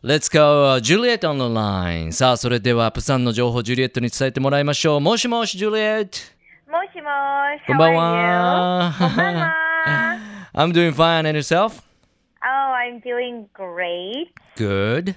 Let's go, Juliet on the line. さあ、それでは、プサンの情報、ジュリエットに伝えてもらいましょう。もしもし、ジュリエット。 もしもし、 こんばん how は。 are you? こんばんは。 I'm doing fine, and yourself? Oh, I'm doing great. Good.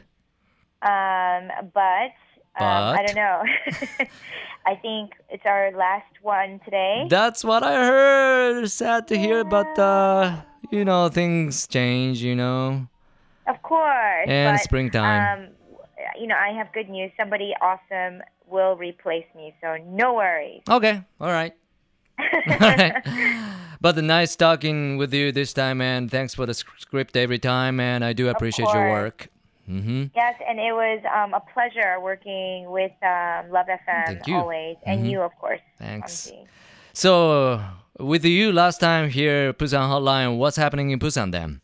But I don't know. I think it's our last one today. That's what I heard. Sad to hear, but things change, Of course. And but, springtime. I have good news. Somebody awesome will replace me, so no worries. Okay, all right. All right. But nice talking with you this time, and thanks for the script every time, and I do appreciate your work. Yes, and it was a pleasure working with Love FM Thank you. always, and you, of course. Thanks. Amji. So, with you last time here, Busan Hotline, what's happening in Busan then?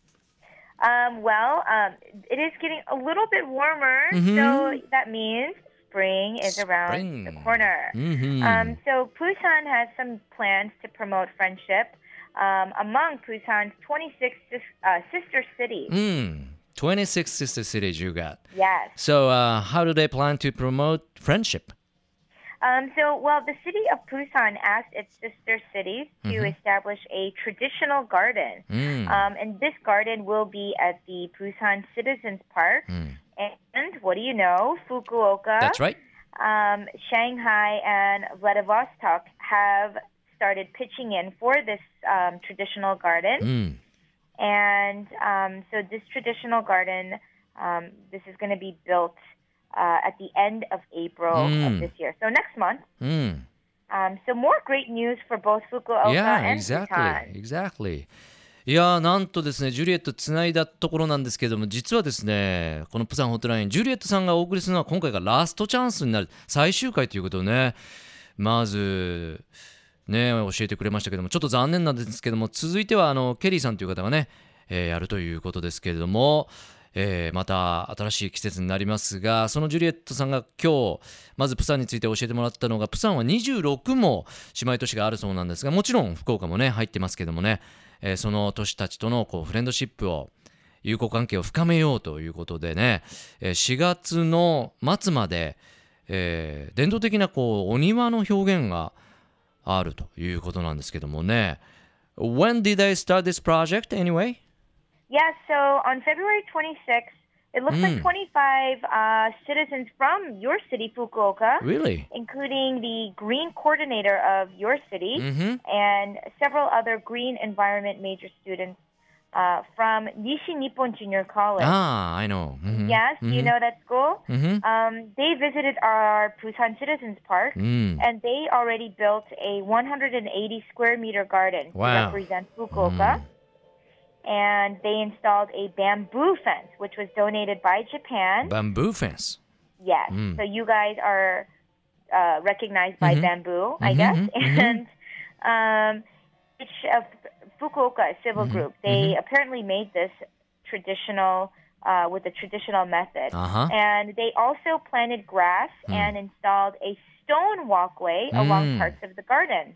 It is getting a little bit warmer, so that means spring is around the corner. So Busan has some plans to promote friendship among Busan's 26 sister cities. 26 sister cities you got. Yes. So, how do they plan to promote friendship? The city of Busan asked its sister cities to establish a traditional garden. And this garden will be at the Busan Citizens Park. And what do you know? Fukuoka, That's right. Shanghai, and Vladivostok have started pitching in for this traditional garden. And so this traditional garden, this is going to be built at the end of April of this year. So next month. So more great news for both Fukuoka and Busan. Exactly. いやー、なんとですね、ジュリエットつないだところなんですけども、実はですね、このプサンホットライン、ジュリエットさんがお送りするのは今回がラストチャンスになる最終回ということをね、まずね、教えてくれましたけども、ちょっと残念なんですけども、続いてはケリーさんという方がね、やるということですけれども、また新しい季節になりますが、そのジュリエットさんが今日まずプサンについて教えてもらったのが、プサンは26も姉妹都市があるそうなんですが、もちろん福岡もね入ってますけどもね、その都市たちとのフレンドシップを、友好関係を深めようということでね、4月の末まで、伝統的なお庭の表現があるということなんですけどもね。When did they start this project anyway? Yeah, so on February 26th, it looks like 25 citizens from your city, Fukuoka, Really? including the green coordinator of your city and several other green environment major students from Nishi Nippon Junior College. Ah, I know. Yes, you know that school? They visited our Busan Citizens Park, and they already built a 180 square meter garden to represent Fukuoka. And they installed a bamboo fence, which was donated by Japan. Bamboo fence? Yes. So you guys are recognized by bamboo, I guess. And Fukuoka Civil Group, they apparently made this traditional, with the traditional method. And they also planted grass and installed a stone walkway along parts of the garden.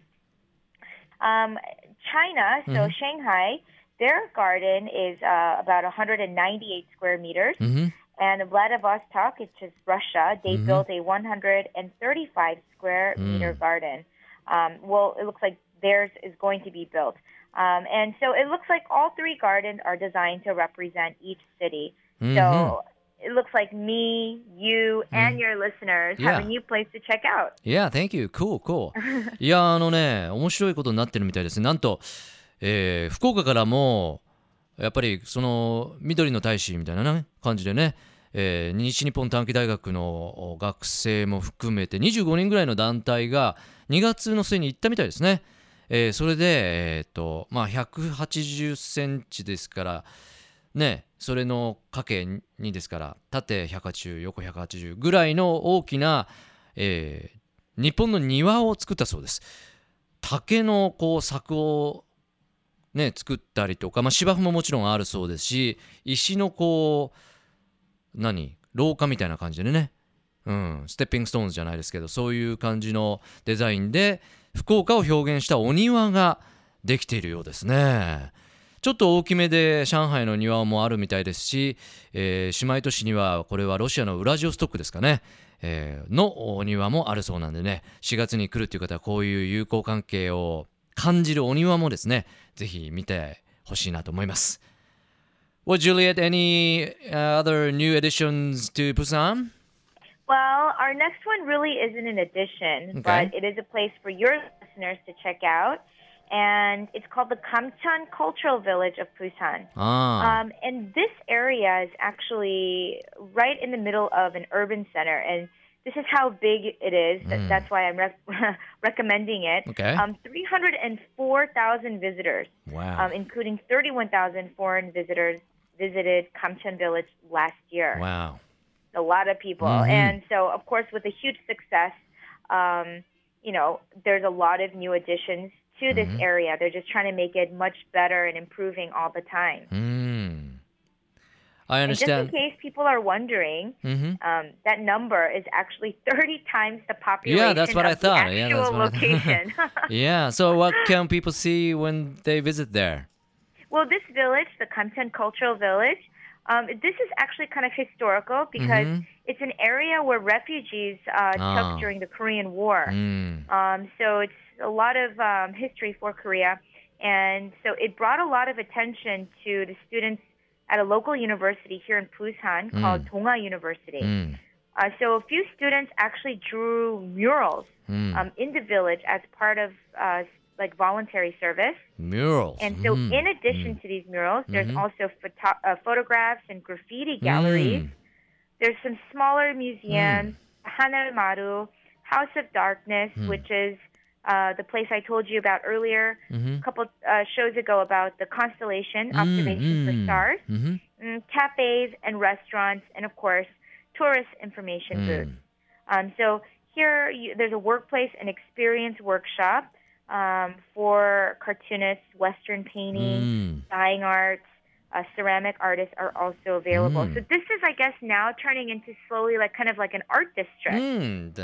China, so Shanghai, their garden is about 198 square meters. And Vladivostok, which is Russia, they built a 135 square meter garden. It looks like theirs is going to be built. And so it looks like all three gardens are designed to represent each city. So it looks like me, you, and your listeners have a new place to check out. Yeah, thank you. Cool. いや、面白いことになってるみたいですね。なんと、福岡からもやっぱりその緑の大使みたいな、ね、感じでね、西日本短期大学の学生も含めて25人ぐらいの団体が2月の末に行ったみたいですね。それで、180センチですからね、それのかけ2ですから縦180横180ぐらいの大きな、日本の庭を作ったそうです。竹の柵をね、作ったりとか、芝生ももちろんあるそうですし、石の廊下みたいな感じでね、ステッピングストーンズじゃないですけど、そういう感じのデザインで福岡を表現したお庭ができているようですね。 ちょっと大きめで上海の庭もあるみたいですし、姉妹都市にはこれはロシアのウラジオストックですかね、のお庭もあるそうなんでね、4月に来るという方はこういう友好関係を感じるお庭もですね、ぜひ見てほしいなと思います。Well, Juliet, any other new additions to Busan? Well, our next one really isn't an addition, Okay. but it is a place for your listeners to check out. And it's called the Kamcheon Cultural Village of Busan. And this area is actually right in the middle of an urban center. And this is how big it is. That's why I'm recommending it. Okay. 304,000 visitors, Wow. including 31,000 foreign visitors, visited Kamcheon Village last year. Wow. A lot of people. And so, of course, with a huge success, there's a lot of new additions to this area. They're just trying to make it much better and improving all the time. I And just in understand. case people are wondering, that number is actually 30 times the population Yeah, that's what I of the thought. actual location. Yeah, so what can people see when they visit there? Well, this village, the Kamcheon Cultural Village, this is actually kind of historical because it's an area where refugees took during the Korean War. So it's a lot of history for Korea. And so it brought a lot of attention to the students at a local university here in Busan called Donga University. So a few students actually drew murals in the village as part of like voluntary service. Murals. And so in addition to these murals, there's also photographs and graffiti galleries. There's some smaller museums, Hanar Maru, House of Darkness, which is the place I told you about earlier a couple shows ago about the constellation observation for stars, cafes and restaurants, and of course, tourist information booths. So here there's a workplace and experience workshop for cartoonists, Western painting, dyeing arts, ceramic artists are also available. So this is, I guess, now turning into slowly like kind of like an art district.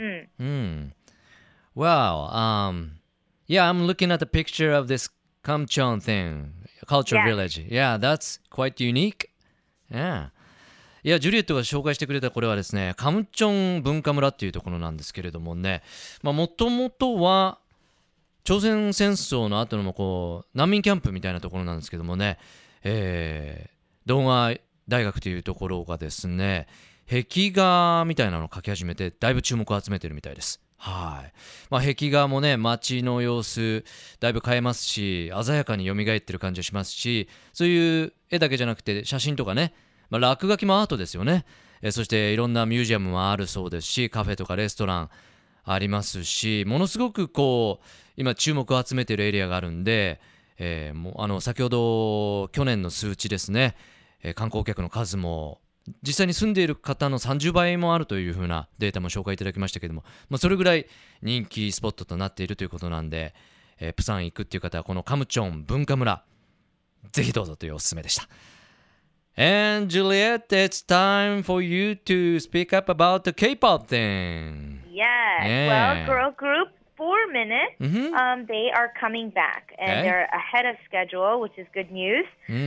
Well, yeah, I'm looking at the picture of this Kamcheon thing, cultural village. Yeah, that's quite unique. Yeah. いや、ジュリエットが紹介してくれたこれはですね、カムチョン文化村っていうところなんですけれどもね、もともとは朝鮮戦争の後のこう難民キャンプみたいなところなんですけどもね、動画大学というところがですね、壁画みたいなのを描き始めてだいぶ注目を集めてるみたいです。はい。壁画もね、街の様子だいぶ変えますし、鮮やかに蘇ってる感じがしますし、そういう絵だけじゃなくて写真とかね、落書きもアートですよね。そしていろんなミュージアムもあるそうですし、カフェとかレストランありますし、ものすごくこう今注目を集めているエリアがあるんで、先ほど去年の数値ですね、観光客の数も実際に住んでいる方の30倍もあるというふうなデータも紹介いただきましたけれども、それぐらい人気スポットとなっているということなんで、プサン行くっていう方はこのカムチョン文化村ぜひどうぞというおすすめでした。And Juliet, it's time for you to speak up about the K-pop thing. Yes. Well, girl group 4 Minute, they are coming back, and they're ahead of schedule, which is good news.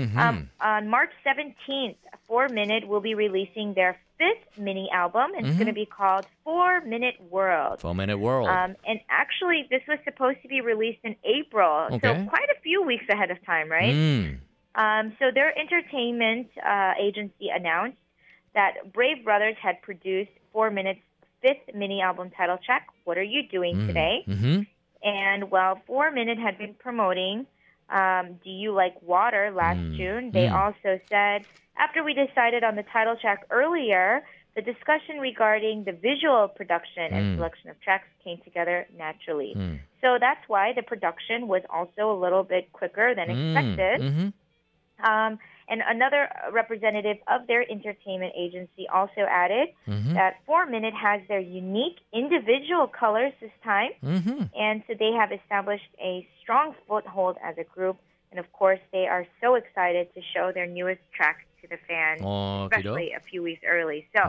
On March 17th, 4 Minute will be releasing their 5th mini album, and it's going to be called 4 Minute World. 4 Minute World. And actually, this was supposed to be released in April, so quite a few weeks ahead of time, right? So their entertainment agency announced that Brave Brothers had produced 4 Minute's 5th mini album title track, What Are You Doing Today? And while 4 Minute had been promoting Do You Like Water last June, they also said, after we decided on the title track earlier, the discussion regarding the visual production and selection of tracks came together naturally. So that's why the production was also a little bit quicker than expected. And another representative of their entertainment agency also added that 4 Minute has their unique individual colors this time. And so they have established a strong foothold as a group. And of course, they are so excited to show their newest tracks to the fans, especially a few weeks early. So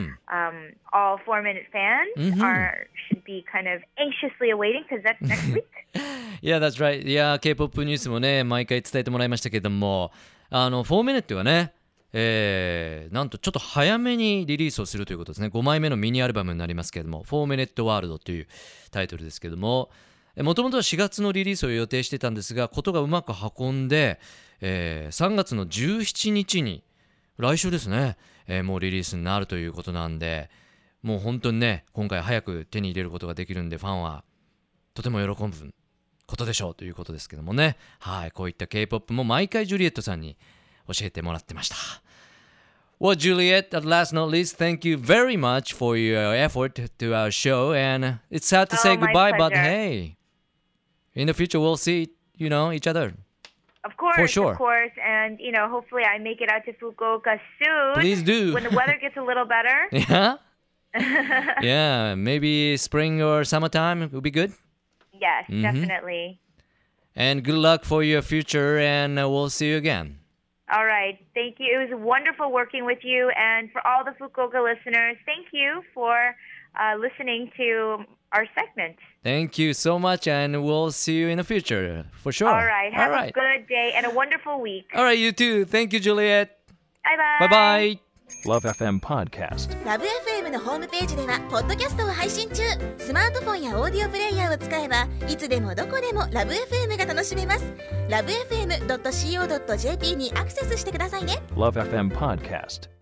all 4 Minute fans should be kind of anxiously awaiting because that's next week. Yeah, that's right. K-POP ニュースもね、毎回伝えてもらいましたけども、4 Minute はね、なんとちょっと早めにリリースをするということですね。5枚目のミニアルバムになりますけれども、4 Minute World というタイトルですけども、もともとは4月のリリースを予定してたんですが、ことがうまく運んで、3月の17日に、来週ですね、もうリリースになるということなんで、もう本当にね、今回早く手に入れることができるんで、ファンはとても喜ぶことでしょうということですけどもね。はい、こういった K-POP も毎回ジュリエットさんに教えてもらってました。Well, Juliet, at last not least, thank you very much for your effort to our show. And it's sad to say goodbye, but hey, in the future we'll see, each other. Of course, for sure. Of course. And, hopefully I make it out to Fukuoka soon. Please do. When the weather gets a little better. Yeah? Yeah, maybe spring or summertime would be good. Yes, definitely. And good luck for your future, and we'll see you again. All right. Thank you. It was wonderful working with you. And for all the Fukuoka listeners, thank you for listening to our segment. Thank you so much, and we'll see you in the future, for sure. All right. Have a good day and a wonderful week. All right, you too. Thank you, Juliet. Bye-bye. Bye-bye. Love FM Podcast。 ラブ FM のホームページではポッドキャストを配信中。スマートフォンやオーディオプレイヤーを使えばいつでもどこでもラブ FM が楽しめます。ラブ FM.co.jp にアクセスしてくださいね。 Love FM Podcast。